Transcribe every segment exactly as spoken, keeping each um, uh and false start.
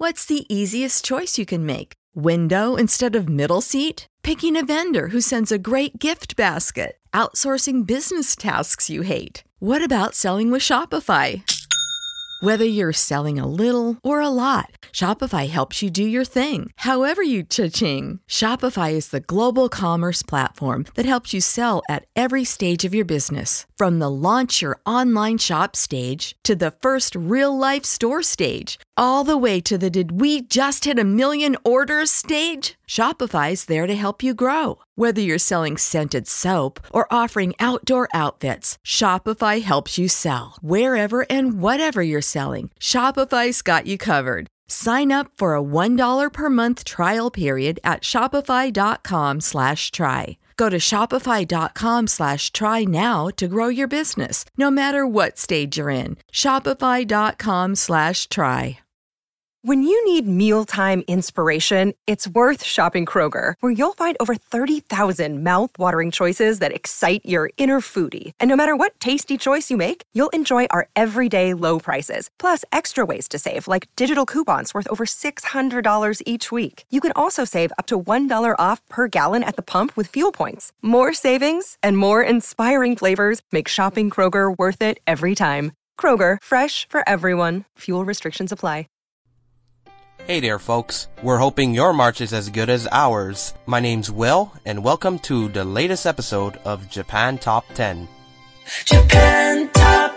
What's the easiest choice you can make? Window instead of middle seat? Picking a vendor who sends a great gift basket? Outsourcing business tasks you hate? What about selling with Shopify? Whether you're selling a little or a lot, Shopify helps you do your thing, however you cha-ching. Shopify is the global commerce platform that helps you sell at every stage of your business. From the launch your online shop stage to the first real-life store stage, all the way to the did we just hit a million orders stage. Shopify's there to help you grow. Whether you're selling scented soap or offering outdoor outfits, Shopify helps you sell. Wherever and whatever you're selling, Shopify's got you covered. Sign up for a one dollar per month trial period at shopify.com slash try. Go to shopify.com slash try now to grow your business, no matter what stage you're in. Shopify.com slash try. When you need mealtime inspiration, it's worth shopping Kroger, where you'll find over thirty thousand mouth-watering choices that excite your inner foodie. And no matter what tasty choice you make, you'll enjoy our everyday low prices, plus extra ways to save, like digital coupons worth over six hundred dollars each week. You can also save up to one dollar off per gallon at the pump with fuel points. More savings and more inspiring flavors make shopping Kroger worth it every time. Kroger, fresh for everyone. Fuel restrictions apply. Hey there, folks. We're hoping your March is as good as ours. My name's Will, and welcome to the latest episode of Japan Top ten. Japan Top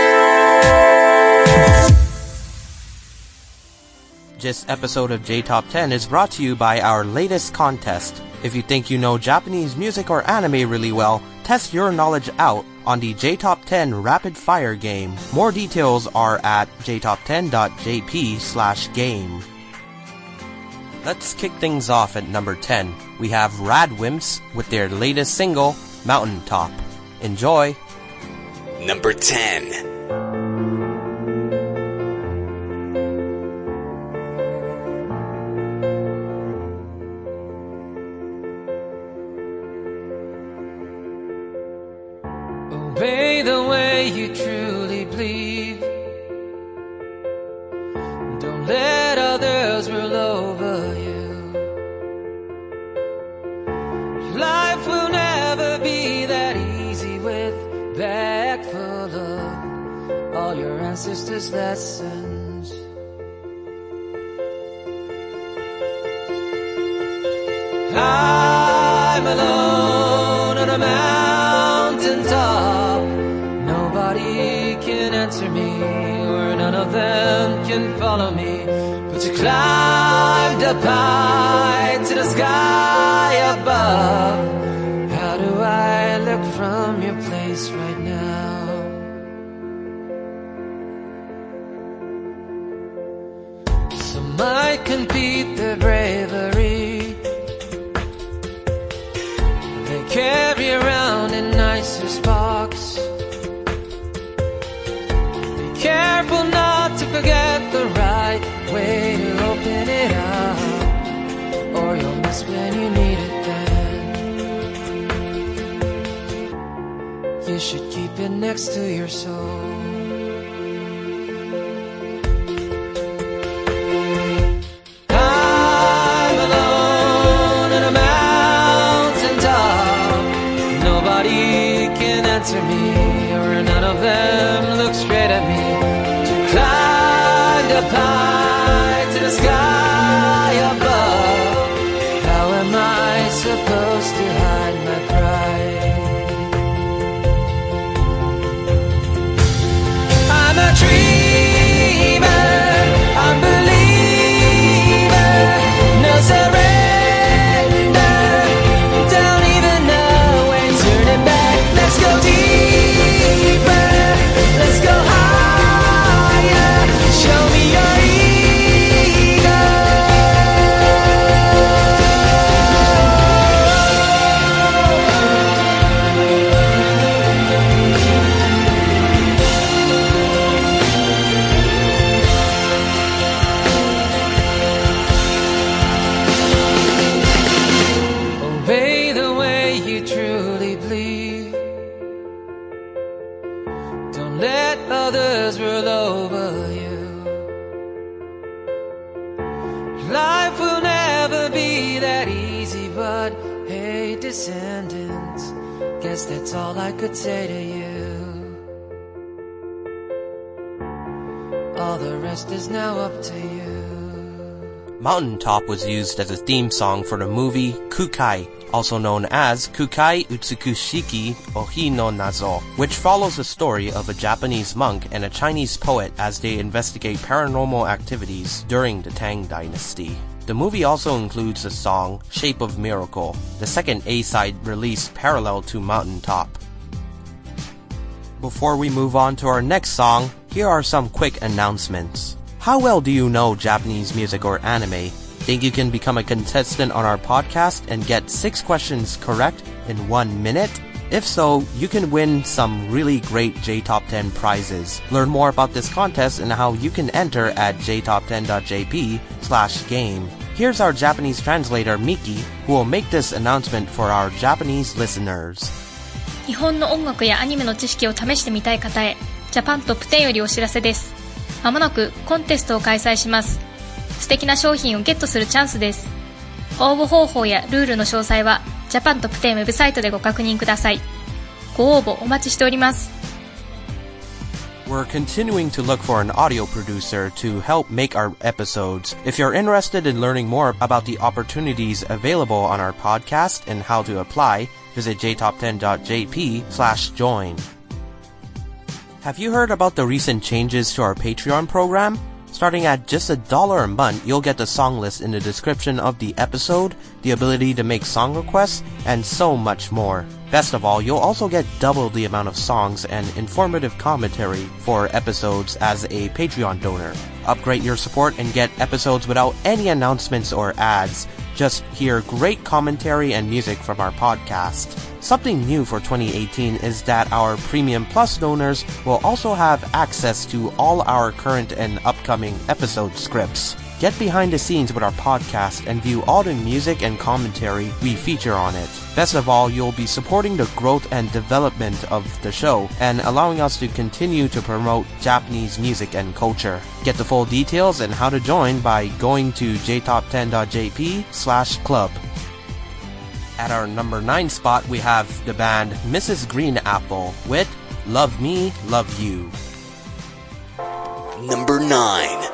ten! This episode of J Top ten is brought to you by our latest contest. If you think you know Japanese music or anime really well, test your knowledge out on the J Top ten Rapid Fire game. More details are at j top ten dot j p slash game. Let's kick things off at number ten. We have Radwimps with their latest single, Mountaintop. Enjoy! Number ten. Obey the way you truly believe. Don't let others rule over you. Your life will never be that easy with a bag full of all your ancestors' lessons. I'm alone on a mountaintop. Nobody can answer me, or none of them can follow me. But you climbed up high to the sky above. How do I look from your place right now? Some might compete their bravery. They carry around in nicer sparks. Be careful not to forget the right way to open it up, or you'll miss when you need it then. You should keep it next to your soul. I'm alone on a mountaintop. Nobody can answer me, or none of them look straight at me. You climbed up high to the sky above. How am I supposed to hide my pride? I'm a dreamer, I'm a believer, no surrender. Don't even know when turning back. Let's go deep. God, hey descendants, guess that's all I could say to you. All the rest is now up to you. Mountaintop was used as a theme song for the movie Kukai, also known as Kukai Utsukushiki Ohi no Nazo, which follows the story of a Japanese monk and a Chinese poet as they investigate paranormal activities during the Tang Dynasty. The movie also includes the song Shape of Miracle, the second A-side released parallel to Mountaintop. Before we move on to our next song, here are some quick announcements. How well do you know Japanese music or anime? Think you can become a contestant on our podcast and get six questions correct in one minute? If so, you can win some really great J Top ten prizes. Learn more about this contest and how you can enter at j top ten dot j p slash game. Here's our Japanese translator Miki, who will make this announcement for our Japanese listeners. 日本の音楽やアニメの知識を試してみたい方へ、ジャパントップテンよりお知らせです。まもなくコンテストを開催します。素敵な商品をゲットするチャンスです。応募方法やルールの詳細はジャパントップテンウェブサイトでご確認ください。ご応募お待ちしております。 We're continuing to look for an audio producer to help make our episodes. If you're interested in learning more about the opportunities available on our podcast and how to apply, visit j top ten dot j p slash join. Have you heard about the recent changes to our Patreon program? Starting at just a dollar a month, you'll get the song list in the description of the episode, the ability to make song requests, and so much more. Best of all, you'll also get double the amount of songs and informative commentary for episodes as a Patreon donor. Upgrade your support and get episodes without any announcements or ads. Just hear great commentary and music from our podcast. Something new for twenty eighteen is that our Premium Plus donors will also have access to all our current and upcoming episode scripts. Get behind the scenes with our podcast and view all the music and commentary we feature on it. Best of all, you'll be supporting the growth and development of the show and allowing us to continue to promote Japanese music and culture. Get the full details and how to join by going to j top ten dot j p slash club. At our number nine spot, we have the band Missus Green Apple with Love Me, Love You. Number nine.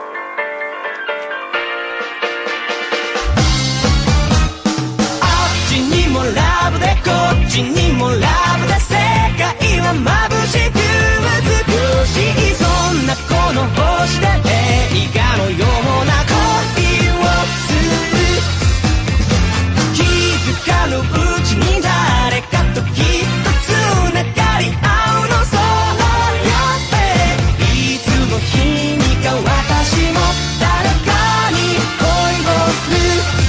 ラブでこっちにもラブで世界は眩しく美しいそんなこの星で映画のような恋をする気づかぬうちに誰かときっとつながり合うのそうやっていつの日にか私も誰かに恋をする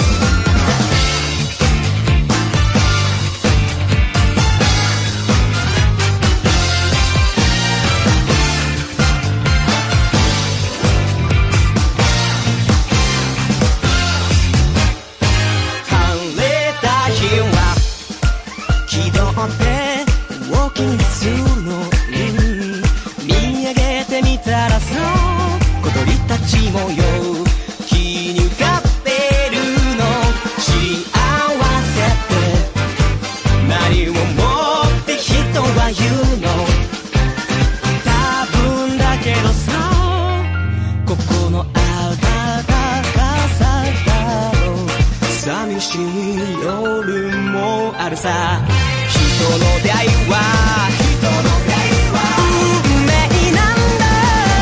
模様気に浮かべるの幸せって何をもって人は言うの多分だけどさここの温かさだろう寂しい夜もあるさ人の出会いは人の出会いは運命なんだ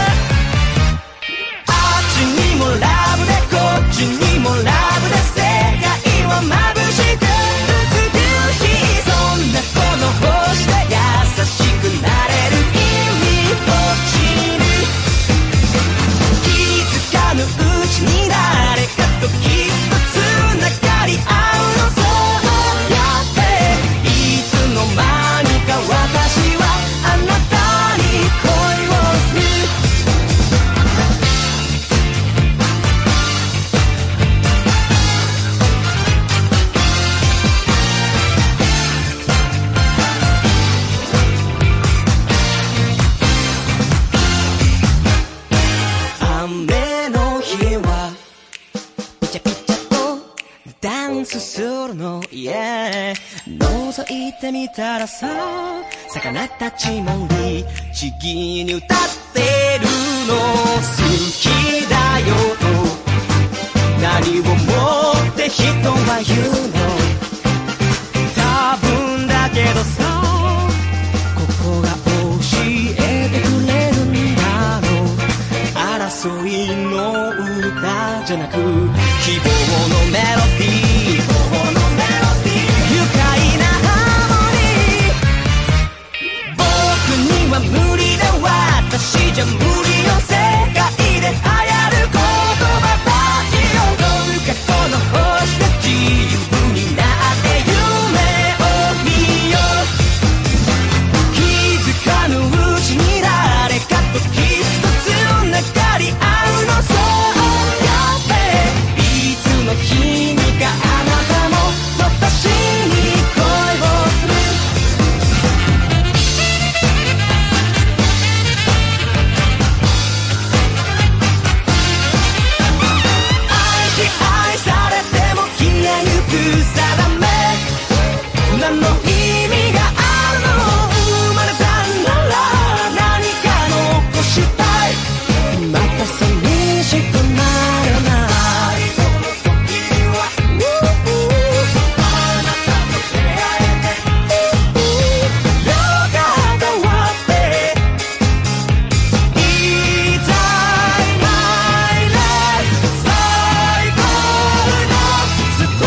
ラブでこっちにもラブで世界は眩しく美しいそんなこの星で優しくなれる意味を知る気づかぬうちに誰かときっとつながり合うのそうやっていつの間にか私はあなたに恋をする突するの、yeah、覗いてみたらさ、魚たちも律儀に歌ってるの。好きだよと何をもって人は言うの。多分だけどさ、ここが教えてくれるんだろう。争いの歌じゃなく希望のメロディー、希望のメロディー、愉快なハーモニー。僕には無理だ、私じゃ無理よ。世界で流行る言葉たちをどうかこの星で自由になって夢を見よう。気づかぬうちに誰かときっとつながり合うの。そうやっていつの日にかあなたも私に恋をする。愛し愛されても消えゆく定め、何の意味があるの。生まれたなら何か残したい。また寂しくなるな。その時はあなたと出会えてよかったわって言いたい。My life 最高のスト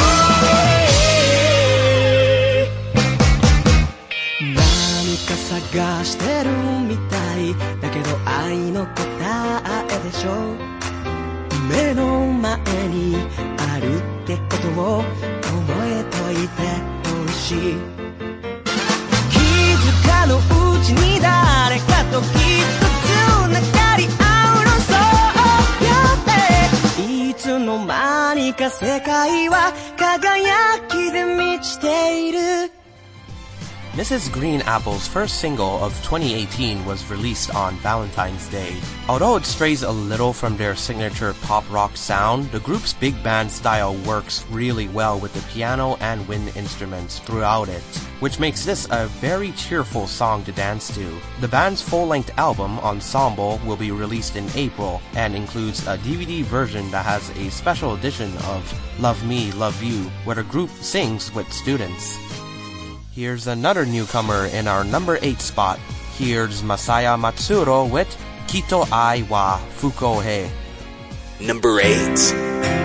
ーリー。何か探してるみたいだけど愛の答えでしょ。目の前にあるってことを覚えといてほしい。気づかぬうちに誰かときっとつながり合うの。そうやっていつの間にか世界は輝きで満ちている。 Missus Green Apple's first single of twenty eighteen was released on Valentine's Day. Although it strays a little from their signature pop rock sound, the group's big band style works really well with the piano and wind instruments throughout it, which makes this a very cheerful song to dance to. The band's full-length album, Ensemble, will be released in April and includes a D V D version that has a special edition of Love Me, Love You, where the group sings with students. Here's another newcomer in our number eight spot. Here's Masaya Matsuro with Kito Ai wa Fukohe. Number eight.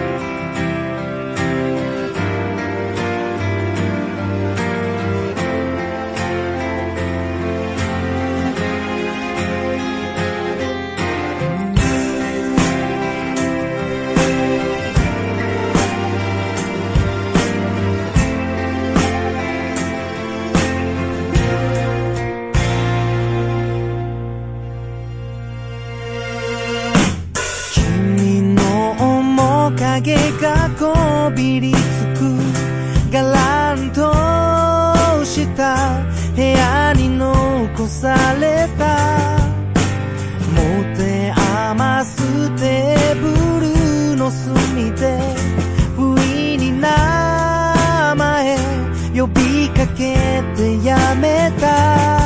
影がこびりつくがらんとした部屋に残された持て余すテーブルの隅で不意に名前呼びかけてやめた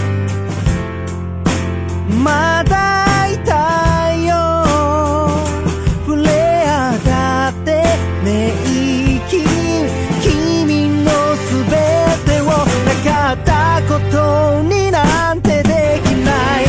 まだいたよ触れ合って寝息君のすべてをなかったことになんてできない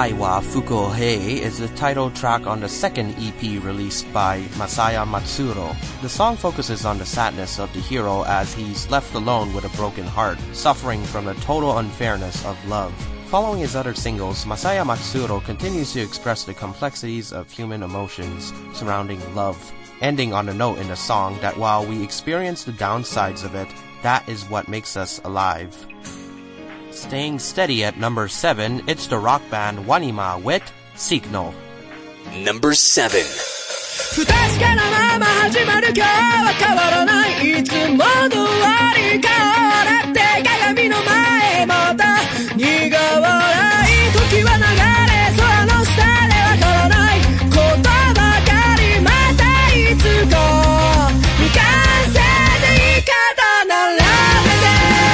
Arai wa Fukuohei is the title track on the second E P released by Masaya Matsuro. The song focuses on the sadness of the hero as he's left alone with a broken heart, suffering from the total unfairness of love. Following his other singles, Masaya Matsuro continues to express the complexities of human emotions surrounding love, ending on a note in the song that while we experience the downsides of it, that is what makes us alive. Staying steady at number seven, it's the rock band Wanima with Signal. Number seven. 不確かなまま始まる今日は変わらないいつもの終わり顔だって鏡の前また苦笑い時は流れ空の下でわからないことばかりまたいつか未完成で言い方並べて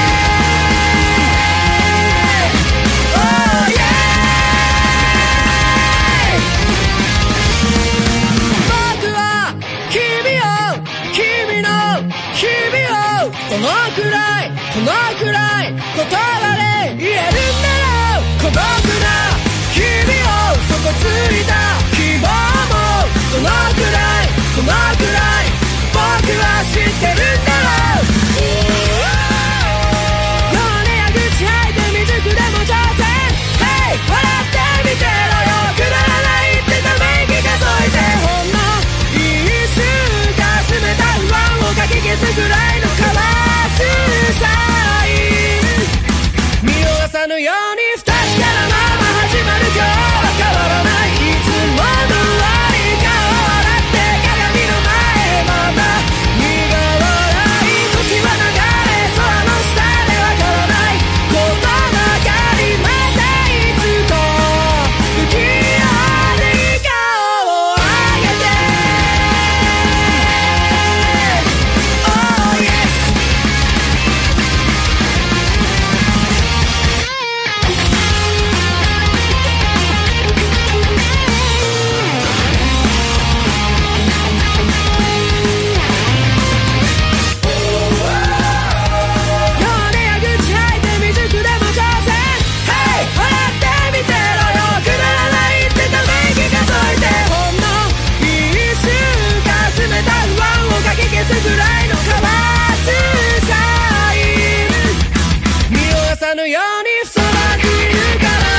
Oh yeah 僕は君を君の日々をこのくらいこのくらい言葉で言えるんだろう孤独な日々を底ついた希望もどのくらいこのくらい僕は知ってるんだろう弱音や愚痴吐いて未熟でも挑戦 Hey 笑ってみてろよくだらないってため息数えてほんの一瞬かすめた不安をかき消すぐらいのカワスサイン見逃さぬように不確かなまま始まる今日は変わらないいつもの終わり顔だって鏡の前また苦笑い時は流れ空の下でわからないことばかりまたいつか不器用に顔を上げて Oh yes 弱音や愚痴吐いて未熟でも挑戦 Hey 笑ってみてろよくだらないってため息数えてほんの一瞬かすめた不安をかき消すぐらいのカワスサイン見逃さぬようにそばにいるから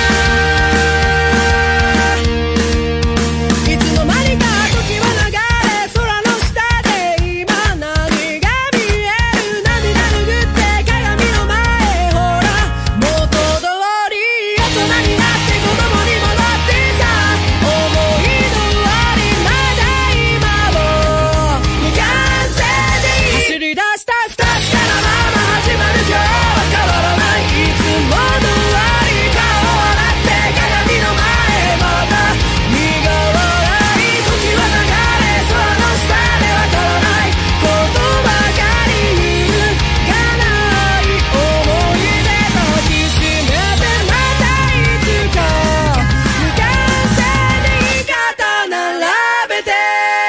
いつの間にか時は流れ空の下で今何が見える涙拭って鏡の前ほら元通り大人になって子供に戻ってさ思いの終わりまだ今も未完成で走り出した不確かなまま始まる今日は変わらないいつもの終わり顔だって鏡の前また苦笑い時は流れ空の下でわからないことばかり揺るがない思い出抱きしめてまたいつか未完成で言い方並べて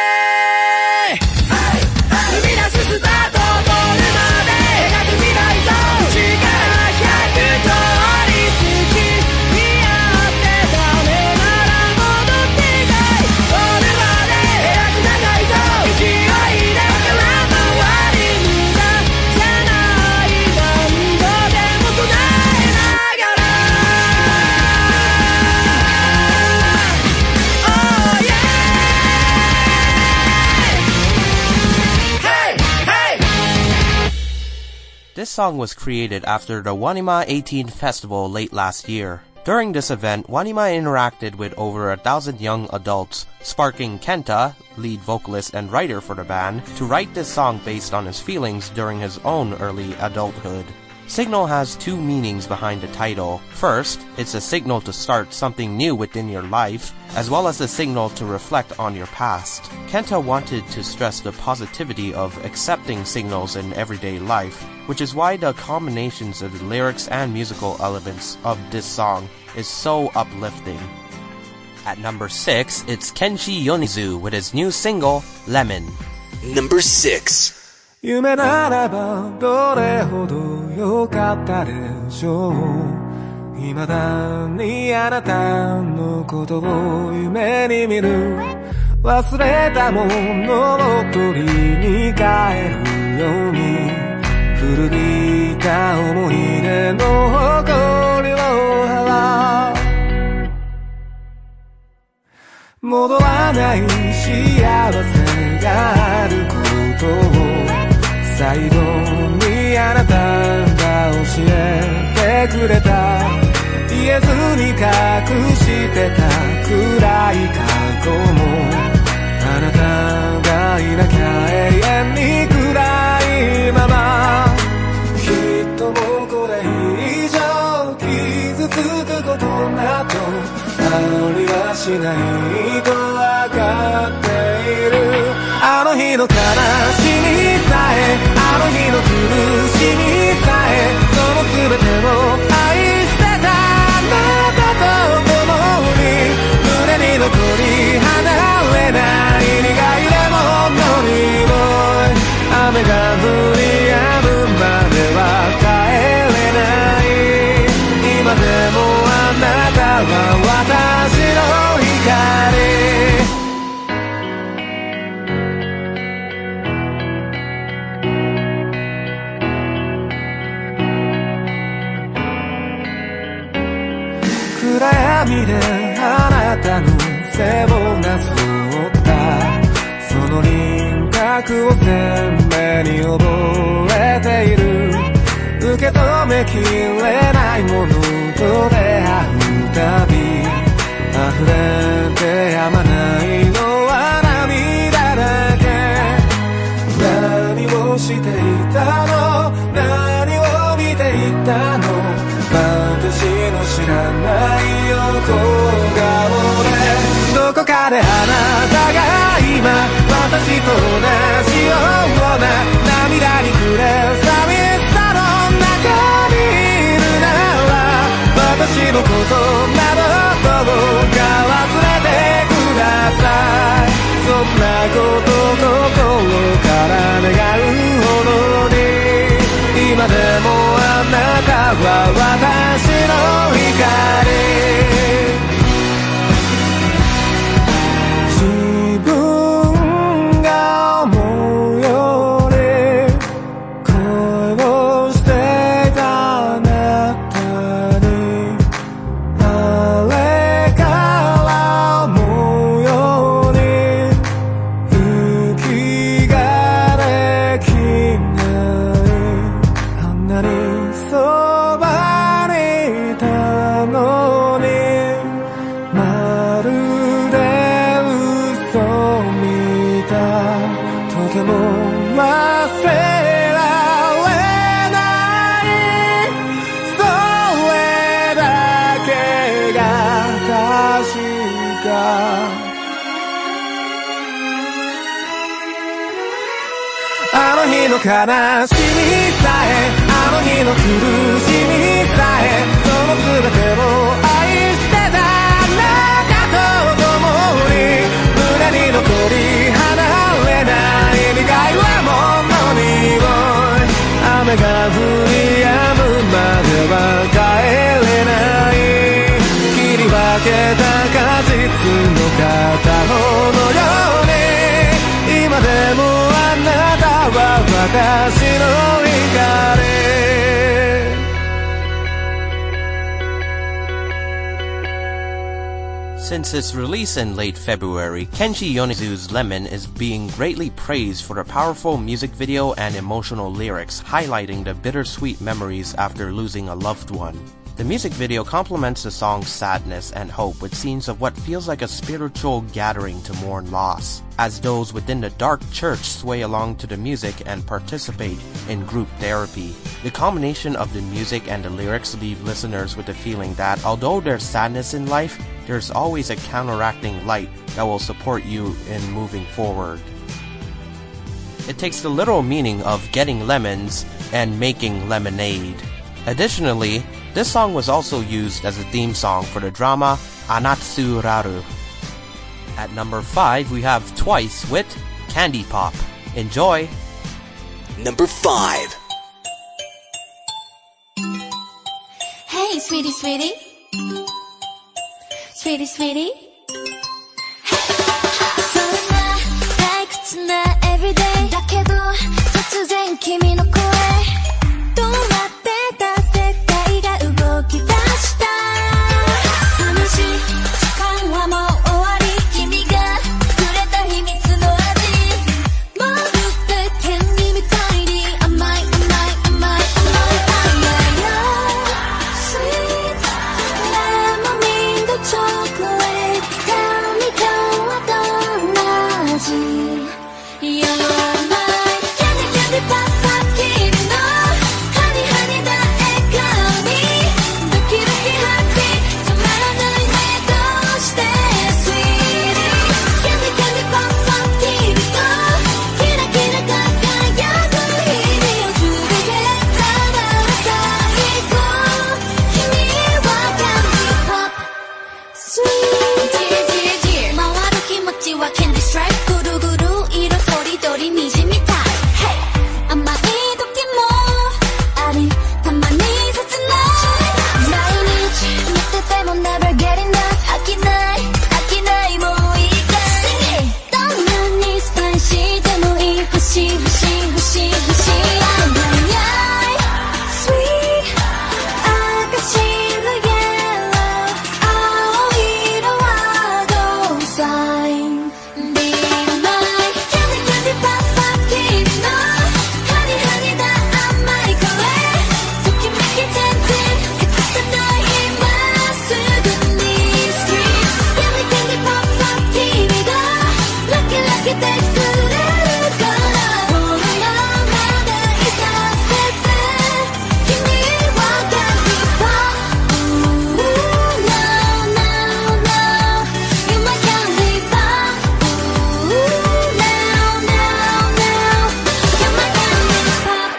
踏み出すスタートゴールまで描く未来像力ひゃく通り好きにあってダメなら戻っていたいゴールまで描く長い像勢いで空回り無駄じゃない何度でも唱えながら Oh yeah Hey hey This song was created after the Wanima eighteenth Festival late last year. During this event, Wanima interacted with over a thousand young adults, sparking Kenta, lead vocalist and writer for the band, to write this song based on his feelings during his own early adulthood. Signal has two meanings behind the title. First, it's a signal to start something new within your life, as well as a signal to reflect on your past. Kenta wanted to stress the positivity of accepting signals in everyday life, which is why the combinations of the lyrics and musical elements of this song is so uplifting. At number six, it's Kenshi Yonezu with his new single, Lemon. Number six. 夢ならばどれほど良かったでしょう未だにあなたのことを夢に見る忘れたものを取りに帰るように古びた思い出の誇りを払う戻らない幸せがあることを最後にあなたが教えてくれた言えずに隠してた暗い過去もあなたがいなきゃ永遠に暗いままきっともうこれ以上傷つくことなどありはしないと分かっているあの日の悲しみさえあの日の苦しみさえその全てを愛してたあなたと共に胸に残り離れない苦いレモンの匂い雨が降り止むまでは帰れない今でもあなたは私の光暗闇であなたの背をなぞったその輪郭を鮮明に覚えている受け止めきれないものと出会うたび溢れてやまないのは涙だけ何をしていたの何を見ていたの私の知らない横顔でどこかであなたが今私と同じような涙に暮れ寂しさの中にいるなら私のことなどどうか忘れてくださいそんなこと心から願うほどに今でもあなたは私の光自分が思うより恋をしていたあなたにあれから思うように息ができないあんなにそばにいたのにまるで嘘みたいとても忘れられないそれだけが確かあの日の悲しみさえあの日の苦しみさえその全てを愛してたあなたと共に胸に残り離れない苦いレモンの匂い雨が降り止むまでは帰れない切り分けた果実の片方のように今でもあなたは私の光 Since its release in late February, Kenshi Yonezu's Lemon is being greatly praised for the powerful music video and emotional lyrics highlighting the bittersweet memories after losing a loved one. The music video complements the song's sadness and hope with scenes of what feels like a spiritual gathering to mourn loss, as those within the dark church sway along to the music and participate in group therapy. The combination of the music and the lyrics leave listeners with the feeling that although there's sadness in life, there's always a counteracting light that will support you in moving forward. It takes the literal meaning of getting lemons and making lemonade. Additionally, this song was also used as a theme song for the drama Anatsuraru. At number five, we have Twice with Candy Pop. Enjoy! Number five. Hey Hey sweetie sweetie Sweetie sweetie そんな退屈な everyday だけど突然君の声止まってた世界が動き出した寂しい時間はもう終わり君がくれた秘密の味まるでケンディみたいに甘い甘い甘い甘い Sweet lemonade chocolate Tell me 今日はどんな味 You're my candy candy pop pop 君のハニハニな笑顔にドキドキハッピー止まらないねどうして Sweetie candy candy pop pop 君とキラキラ輝く日々を全てただ最高君は candy pop Sweet Dear dear dear 回る気持ちは candy stripe ぐるぐる色とりどり虹みたい Hey 甘い時もありたまに切ない毎日見てても never get enough 飽きない飽きないもういいかいどんなにスパイシーでもいい欲しい欲しい欲しい欲しい Sweet 赤白 yellow 青色は gold sign Be my candy candy pop pop 君のハニハニな甘い声ときめき全然隠せない今すぐに Street candy candy pop pop 君がラキラキでくれるからこのままでいさせて君は candy pop Ooh no no no You're my candy pop Ooh no no no You're my candy pop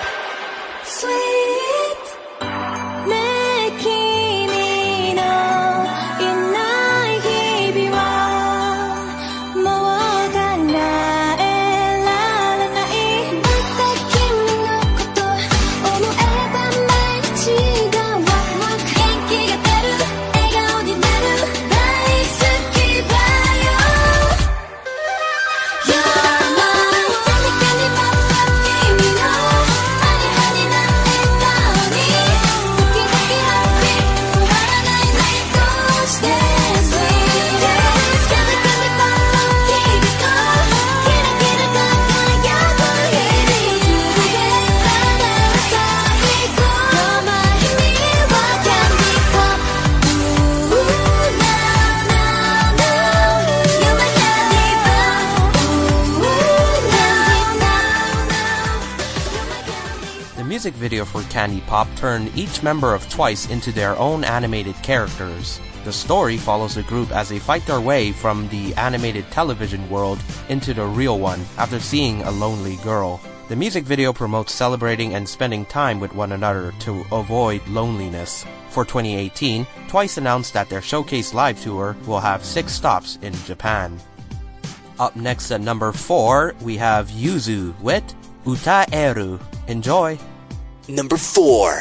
Sweet ねえ君のいない日々はもう考えられないだって君のこと思えば毎日がワクワク元気が出る笑顔になる大好きだよ You're my candy candy pop pop 君のハニハニな笑顔にドキドキハッピー止まらないねどうして Sweet candy candy pop pop 君とキラキラ輝く日々を全てただ最高 You're my 君は candy pop Ooh no no no You're my candy pop Ooh no no no The music video for Candy Pop turned each member of Twice into their own animated characters. The story follows the group as they fight their way from the animated television world into the real one after seeing a lonely girl. The music video promotes celebrating and spending time with one another to avoid loneliness. For twenty eighteen, Twice announced that their Showcase Live tour will have six stops in Japan. Up next at number four, we have Yuzu with Utaeru. Enjoy! Number four.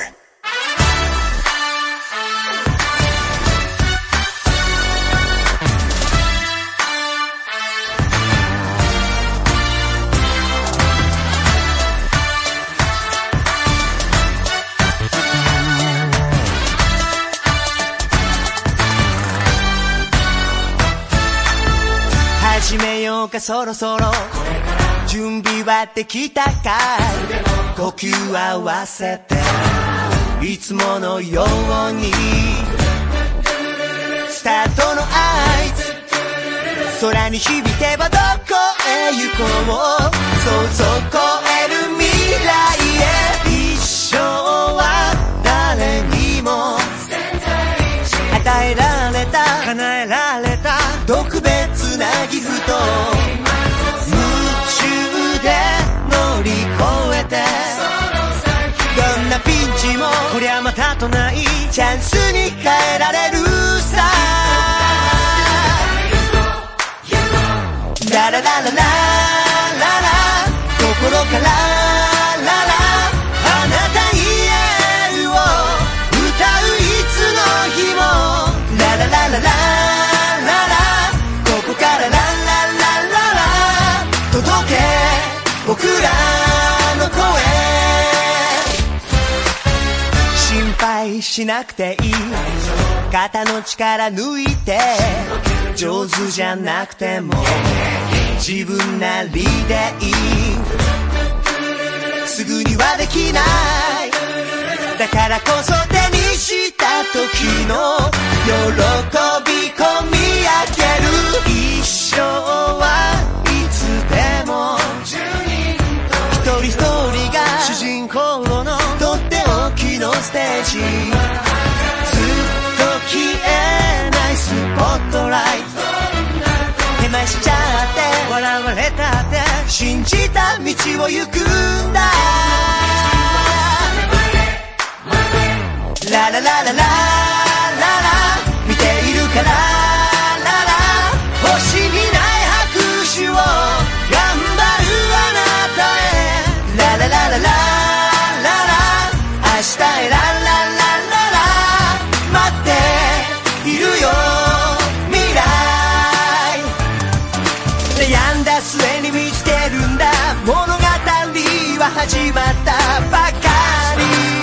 始めようかそろそろ準備はできたかい呼吸合わせていつものようにスタートの合図空に響けばどこへ行こう想像超える未来へ一生は誰にも与えられた叶えられた特別なギフト夢中で乗り越えてどんなピンチもこりゃまたとないチャンスに変えられるさラララララララ心からララあなたにエールを歌ういつ配しなくていい肩の力抜いて上手じゃなくても自分なりでいいすぐにはできないだからこそ手にした時の喜び込み上げる一生はいつでも一人一人が主人公のとっておきのステージずっと消えないスポットライト手前しちゃって笑われたって信じた道を行くんだラララララララ見ているからララ星にない拍手を頑張るあなたへラララララララ明日へラララララ待っているよ未来悩んだ末に見つけるんだ物語は始まったばかり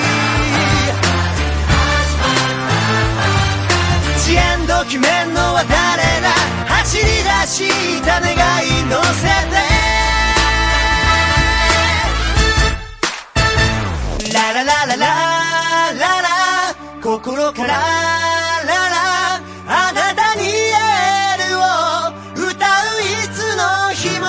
ジエンド決めんのは誰だ走り出した願い乗せてラララララララ心からララあなたにエールを歌ういつの日も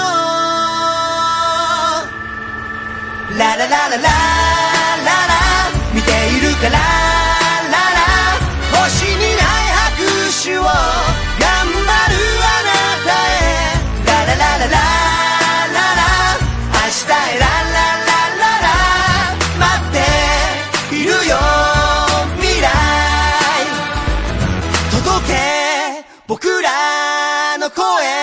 ラララララララ見ているからララ星にない拍手を頑張るあなたへラララララララ明日へラララララ待っているよ未来届け僕らの声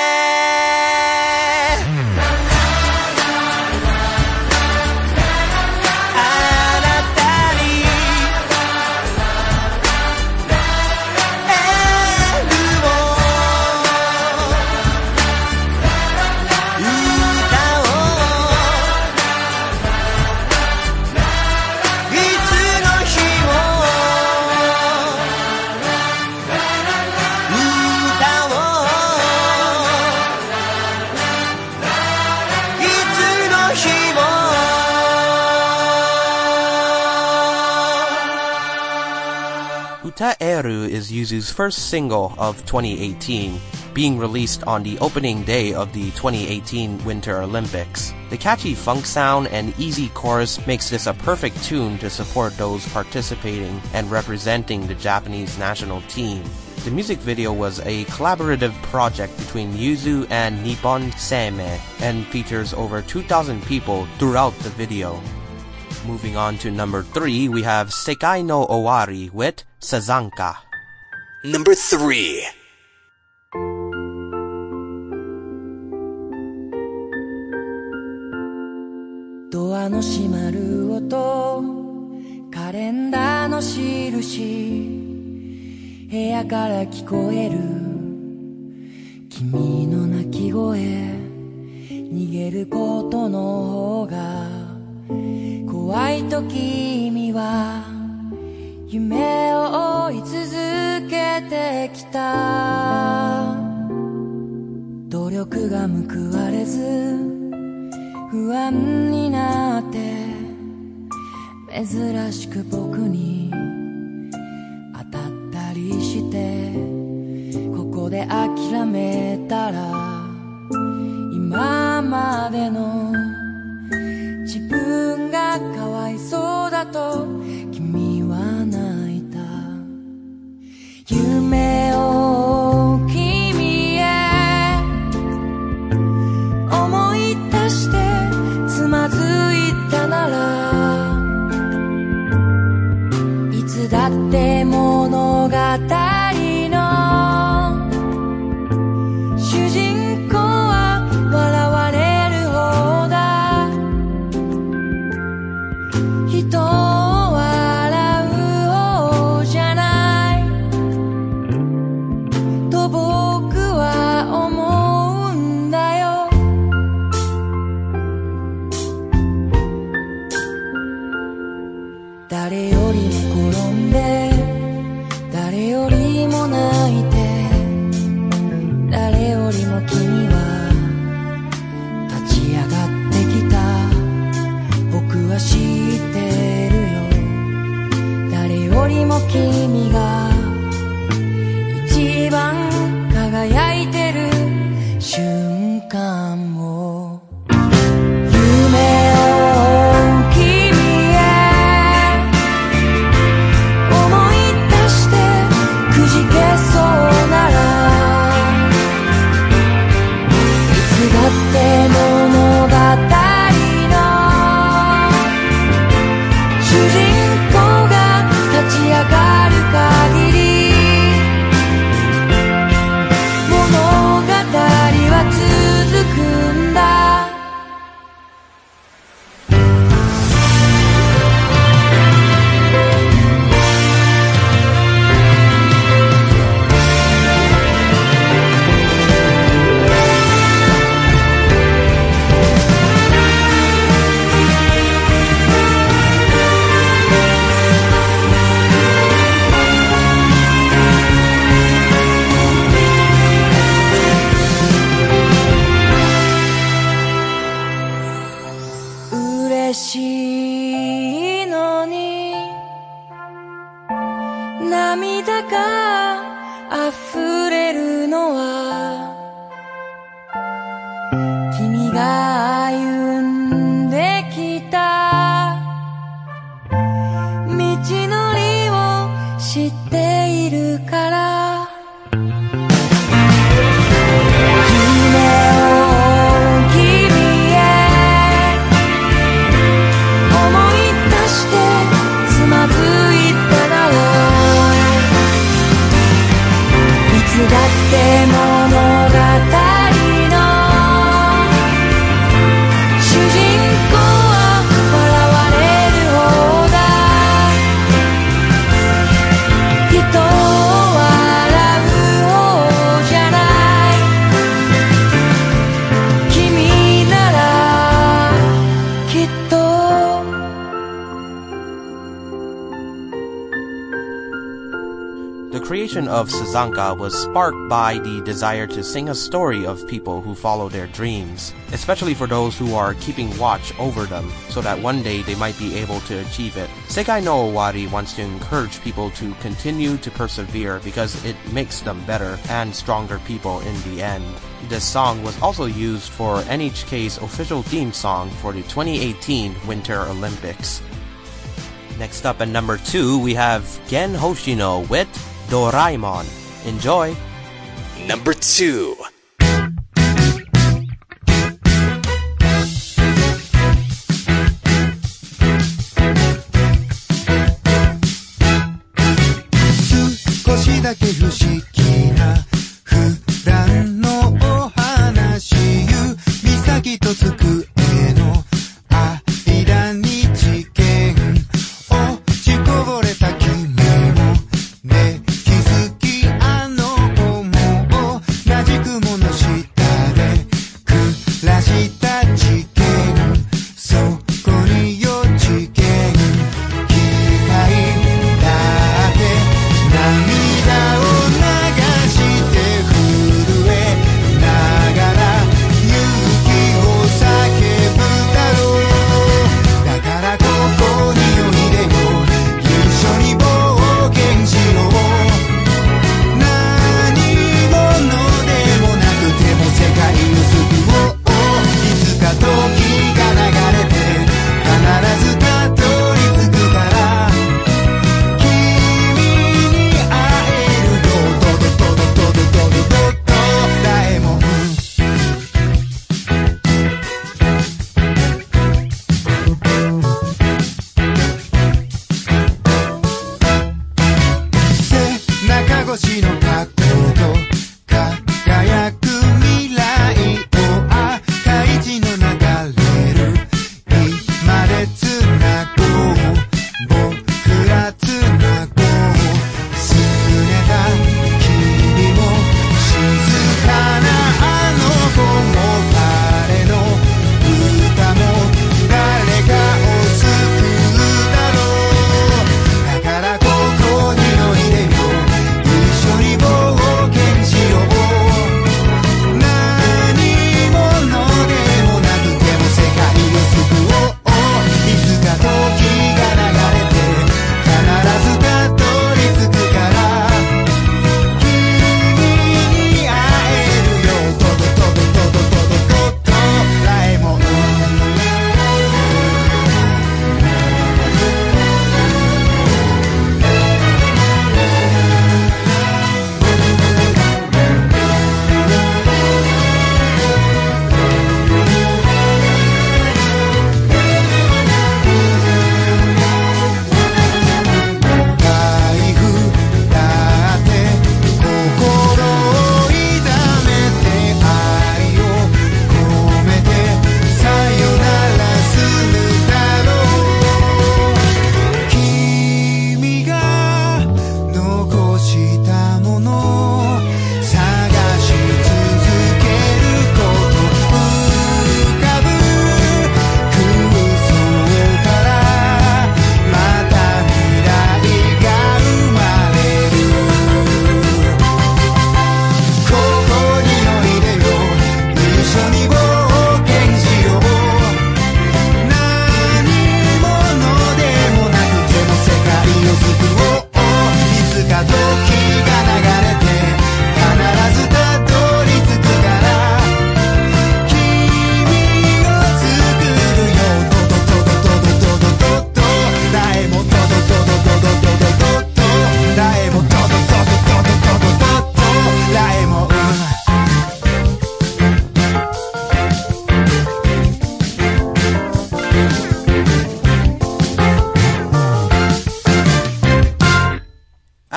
Utaeru is Yuzu's first single of twenty eighteen, being released on the opening day of the twenty eighteen Winter Olympics. The catchy funk sound and easy chorus makes this a perfect tune to support those participating and representing the Japanese national team. The music video was a collaborative project between Yuzu and Nippon Seimei and features over two thousand people throughout the video. Moving on to number three, we have Sekai no Owari with Sazanka. Number three. ドアの閉まる音カレンダーの印部屋から聞こえる君の泣き声逃げることの方が怖いと君は夢を追い続けてきた努力が報われず不安になって珍しく僕に当たったりしてここで諦めたら今までの自分がかわいそうだと君は泣いた夢を君へ思い出してつまずいたならいつだって物語の主人公は笑われる方だ人を笑う方じゃないと僕は思うんだよ誰よりも転んで誰よりも泣いて誰よりも君は立ち上がってきた僕は知ってるよ誰よりも君が一番輝いてる瞬間を夢を涙が溢れるのは君が歩んできた道のりを知っているからだって物語の主人公は笑われる方だ人を笑う方じゃない君ならきっと The creation of Sazanka was sparked by the desire to sing a story of people who follow their dreams, especially for those who are keeping watch over them, so that one day they might be able to achieve it. Sekai no Owari wants to encourage people to continue to persevere because it makes them better and stronger people in the end. This song was also used for N H K's official theme song for the twenty eighteen Winter Olympics. Next up at number two, we have Gen Hoshino with Doraemon. Enjoy! Number two. 少しだけ不思議な普段のお話指先と机の間に事件落ちこぼれた君もね気づきあの思う同じ雲の下で暮らした事件そこによ事件機械だけ涙を流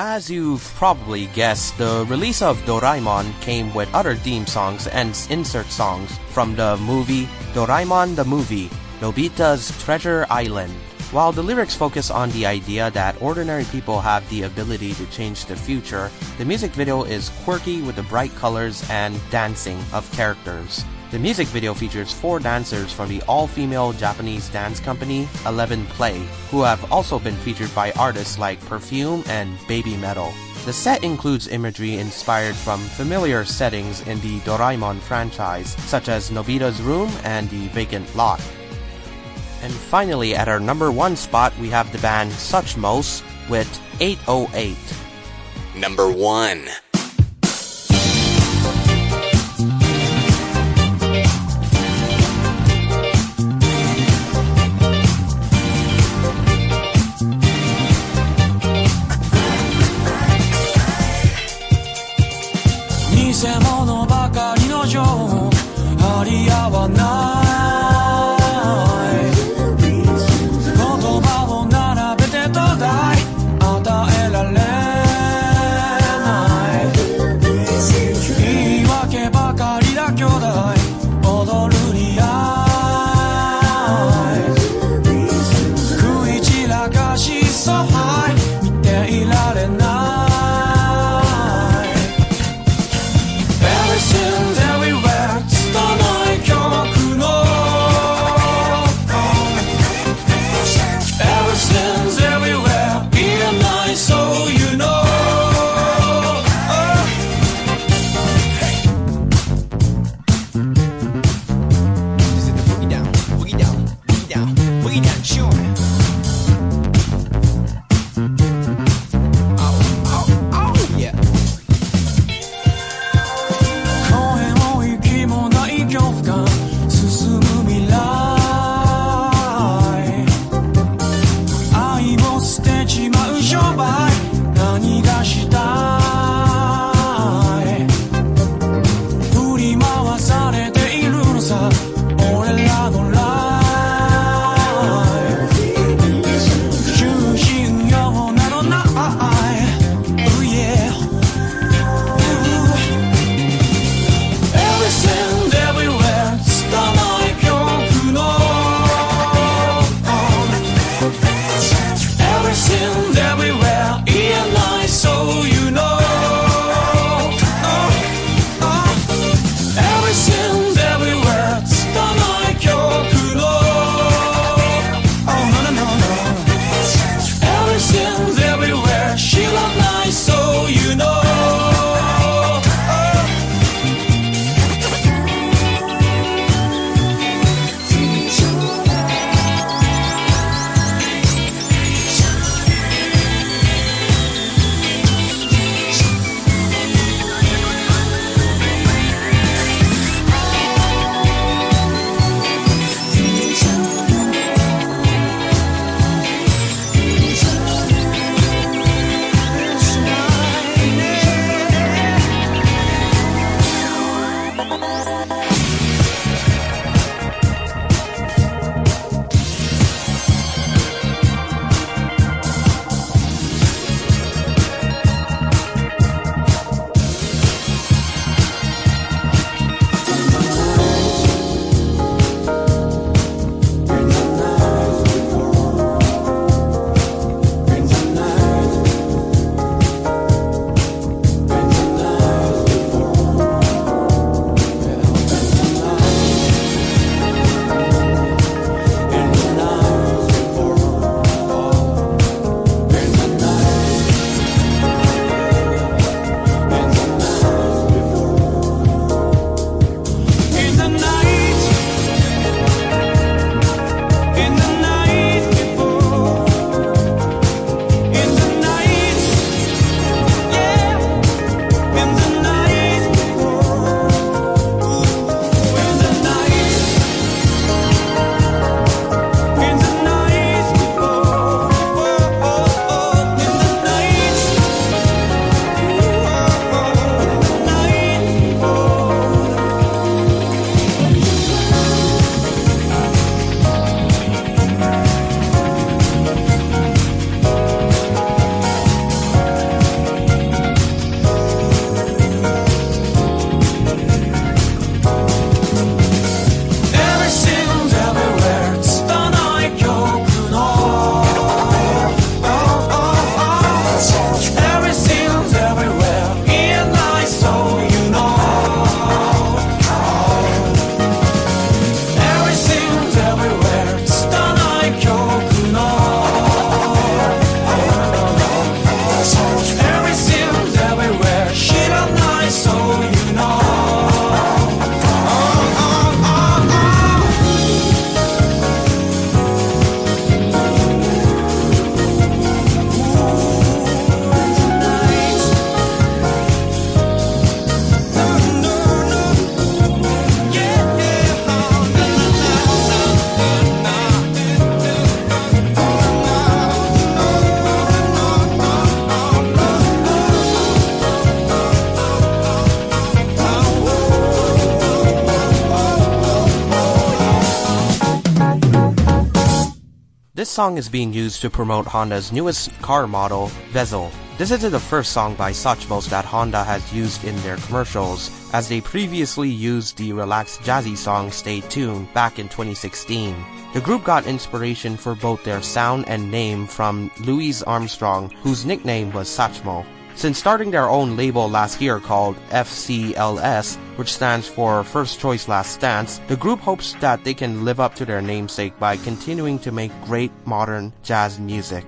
as you've probably guessed, the release of Doraemon came with other theme songs and insert songs from the movie Doraemon the Movie, Nobita's Treasure Island. While the lyrics focus on the idea that ordinary people have the ability to change the future, the music video is quirky with the bright colors and dancing of characters. The music video features four dancers from the all-female Japanese dance company Eleven Play, who have also been featured by artists like Perfume and Baby Metal. The set includes imagery inspired from familiar settings in the Doraemon franchise, such as Nobita's room and the vacant lot. And finally, at our number one spot, we have the band Suchmos with eight oh eight. Number one. 偽物ばかりの情報張り合わない言葉を並べてとだい与えられない言い訳ばかりだ兄弟踊るリアイ食い散らかしそう見ていられないEverywhere this song is being used to promote Honda's newest car model, Vezel. This isn't the first song by Satchmos that Honda has used in their commercials, as they previously used the relaxed jazzy song Stay Tuned back in twenty sixteen. The group got inspiration for both their sound and name from Louis Armstrong, whose nickname was Satchmo. Since starting their own label last year called F C L S, which stands for First Choice Last Stance, the group hopes that they can live up to their namesake by continuing to make great modern jazz music.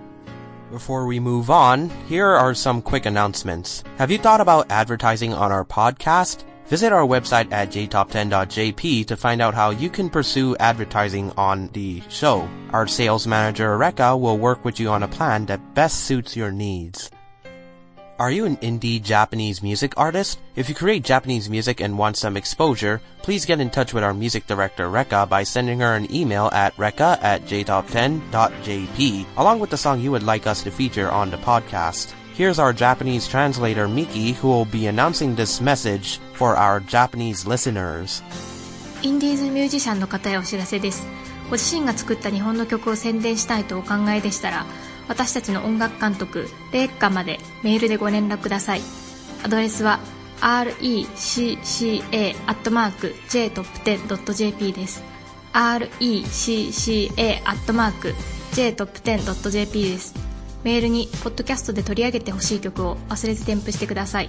Before we move on, here are some quick announcements. Have you thought about advertising on our podcast? Visit our website at j top ten dot j p to find out how you can pursue advertising on the show. Our sales manager, Rekka, will work with you on a plan that best suits your needs. Are you an indie Japanese music artist? If you create Japanese music and want some exposure, please get in touch with our music director Rekka by sending her an email at rekka at j top ten dot j p, along with the song you would like us to feature on the podcast. Here's our Japanese translator Miki, who will be announcing this message for our Japanese listeners. インディーズミュージシャンの方へお知らせです。ご自身が作った日本の曲を宣伝したいとお考えでしたら、私たちの音楽監督レッカまでメールでご連絡ください。アドレスは アールイーシーシーエー アットマーク ジェイトップテン ドット ジェーピー です。 アールイーシーシーエー アットマーク ジェイトップテン ドット ジェーピー です。メールにポッドキャストで取り上げてほしい曲を忘れず添付してください。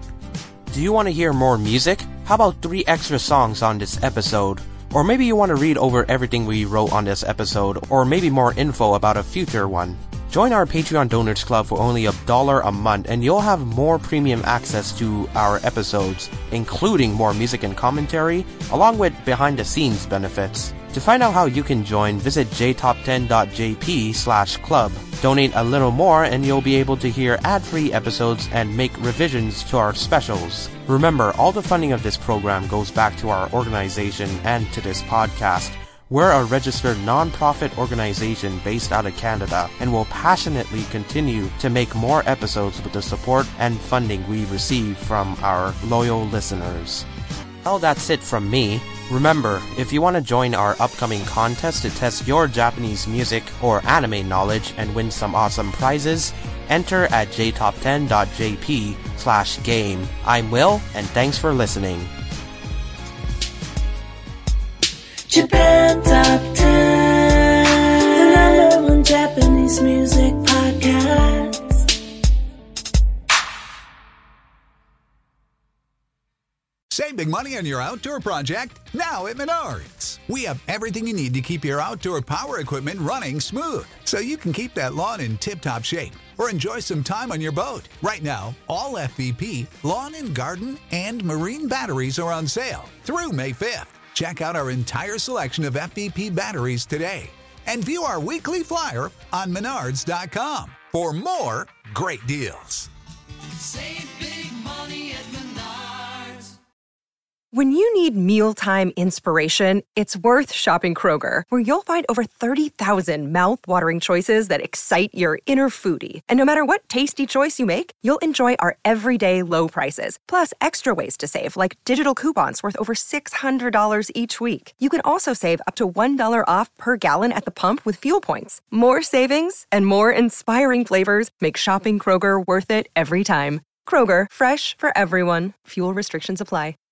Do you want to hear more music? How about three extra songs on this episode? Or maybe you want to read over everything we wrote on this episode, or maybe more info about a future one. Join our Patreon Donors Club for only a dollar a month and you'll have more premium access to our episodes, including more music and commentary, along with behind-the-scenes benefits. To find out how you can join, visit j top ten dot j p slash club. Donate a little more and you'll be able to hear ad-free episodes and make revisions to our specials. Remember, all the funding of this program goes back to our organization and to this podcast. We're a registered non-profit organization based out of Canada and will passionately continue to make more episodes with the support and funding we receive from our loyal listeners. Well, that's it from me. Remember, if you want to join our upcoming contest to test your Japanese music or anime knowledge and win some awesome prizes, enter at j top ten dot j p slash game. I'm Will, and thanks for listening. Japan Top ten, the number one Japanese music podcast. Save big money on your outdoor project now at Menards. We have everything you need to keep your outdoor power equipment running smooth, so you can keep that lawn in tip-top shape or enjoy some time on your boat. Right now, all F V P, lawn and garden, and marine batteries are on sale through May fifth. Check out our entire selection of F V P batteries today and view our weekly flyer on menards dot com for more great deals. Save big money at Menards. When you need mealtime inspiration, it's worth shopping Kroger, where you'll find over thirty thousand mouth-watering choices that excite your inner foodie. And no matter what tasty choice you make, you'll enjoy our everyday low prices, plus extra ways to save, like digital coupons worth over six hundred dollars each week. You can also save up to one dollar off per gallon at the pump with fuel points. More savings and more inspiring flavors make shopping Kroger worth it every time. Kroger, fresh for everyone. Fuel restrictions apply.